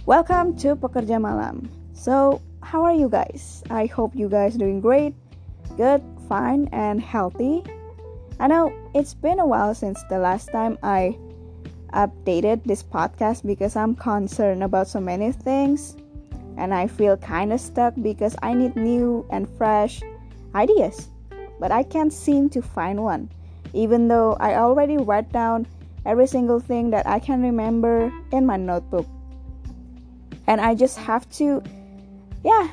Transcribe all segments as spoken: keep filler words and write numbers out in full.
Welcome to Pekerja Malam. So, how are you guys? I hope you guys doing great, good, fine, and healthy. I know it's been a while since the last time I updated this podcast because I'm concerned about so many things and I feel kind of stuck because I need new and fresh ideas. But I can't seem to find one, even though I already write down every single thing that I can remember in my notebook. And I just have to, yeah,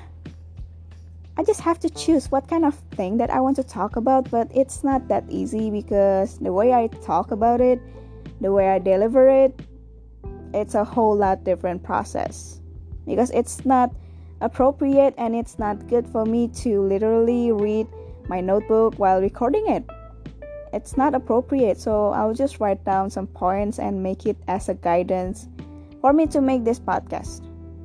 I just have to choose what kind of thing that I want to talk about. But it's not that easy because the way I talk about it, the way I deliver it, it's a whole lot different process. Because it's not appropriate and it's not good for me to literally read my notebook while recording it. It's not appropriate, so I'll just write down some points and make it as a guidance for me to make this podcast.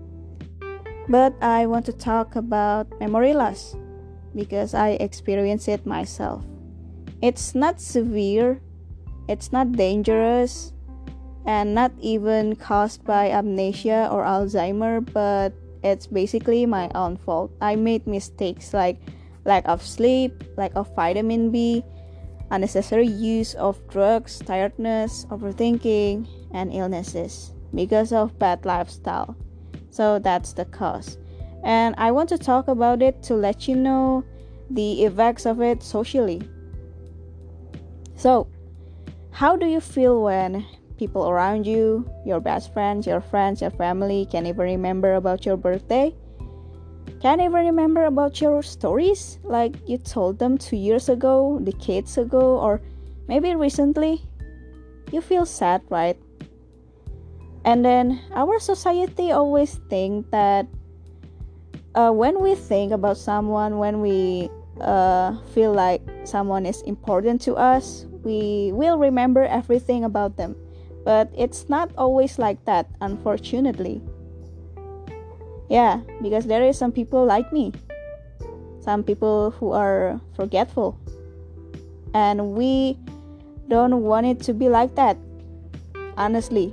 But I want to talk about memory loss because I experience it myself. It's not severe, it's not dangerous, and not even caused by amnesia or Alzheimer, but it's basically my own fault. I made mistakes like lack of sleep, lack of vitamin B, unnecessary use of drugs, tiredness, overthinking, and illnesses because of bad lifestyle. So that's the cause. And I want to talk about it to let you know the effects of it socially. So, how do you feel when people around you, your best friends, your friends, your family, can't even remember about your birthday? Can't even remember about your stories like you told them two years ago, decades ago, or maybe recently? You feel sad, right? And then our society always think that uh, when we think about someone, when we uh, feel like someone is important to us, we will remember everything about them. But it's not always like that, unfortunately. Yeah, because there is some people like me. Some people who are forgetful. And we don't want it to be like that, honestly.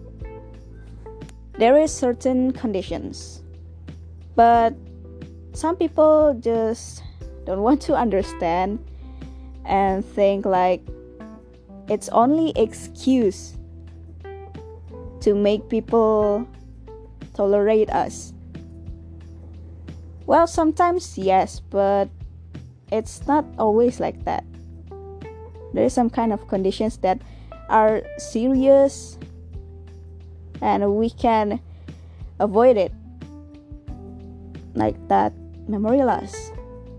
There is certain conditions, but some people just don't want to understand and think like it's only excuse to make people tolerate us. Well, sometimes yes, but it's not always like that. There is some kind of conditions that are serious and we can avoid it, like that memory loss.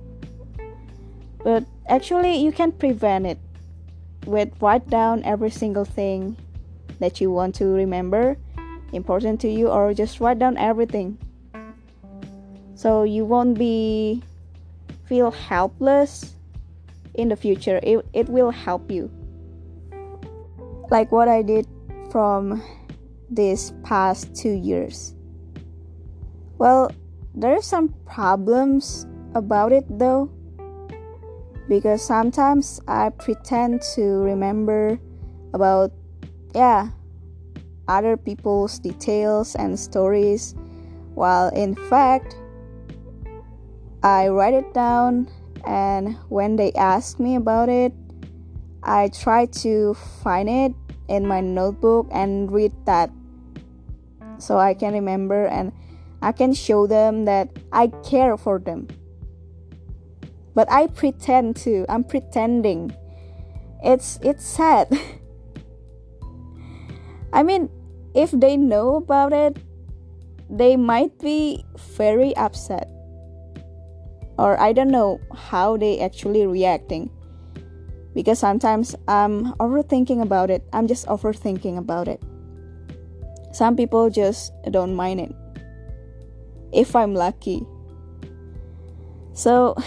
But actually you can prevent it with write down every single thing that you want to remember important to you, or just write down everything so you won't be feel helpless in the future. It, it will help you, like what I did from these past two years. Well, there are some problems about it though, because sometimes I pretend to remember about yeah other people's details and stories, while in fact I write it down, and when they ask me about it, I try to find it in my notebook and read that so I can remember and I can show them that I care for them. But I pretend to. I'm pretending. It's it's sad. I mean, if they know about it, they might be very upset. Or I don't know how they actually reacting. Because sometimes I'm overthinking about it. I'm just overthinking about it. Some people just don't mind it, if I'm lucky. So,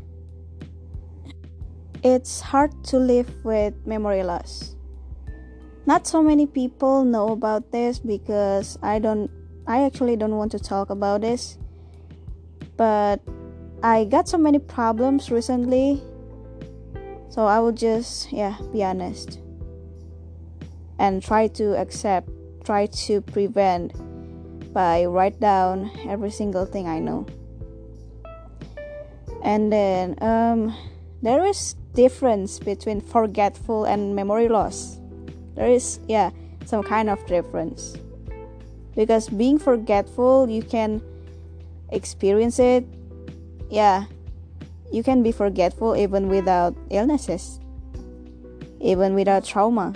it's hard to live with memory loss. Not so many people know about this because I don't, I actually don't want to talk about this. But I got so many problems recently, so I will just, yeah, be honest and try to accept, try to prevent by write down every single thing I know. And then um, there is difference between forgetful and memory loss. There is yeah some kind of difference, because being forgetful, you can experience it. Yeah, you can be forgetful even without illnesses, even without trauma.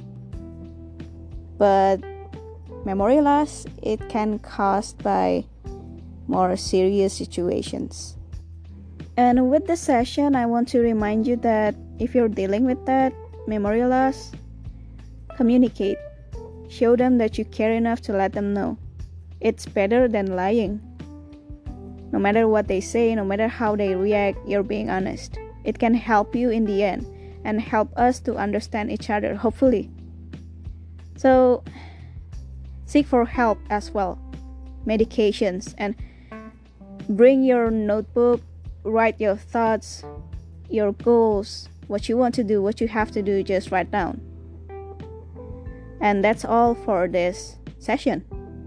But memory loss, it can caused by more serious situations. And with this session, I want to remind you that if you're dealing with that memory loss, communicate. Show them that you care enough to let them know. It's better than lying. No matter what they say, no matter how they react, you're being honest. It can help you in the end and help us to understand each other, hopefully. So, seek for help as well. Medications, and bring your notebook. Write your thoughts, your goals, what you want to do, what you have to do, just write down. And that's all for this session.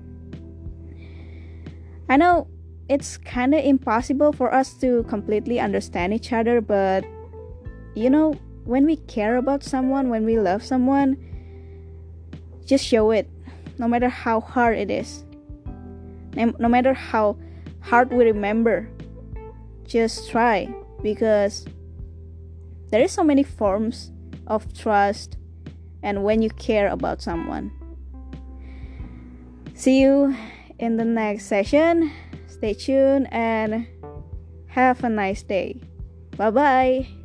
I know it's kind of impossible for us to completely understand each other, but you know, when we care about someone, when we love someone, just show it, no matter how hard it is, no matter how hard we remember. Just try, because there is so many forms of trust and when you care about someone. See you in the next session. Stay tuned and have a nice day. Bye bye.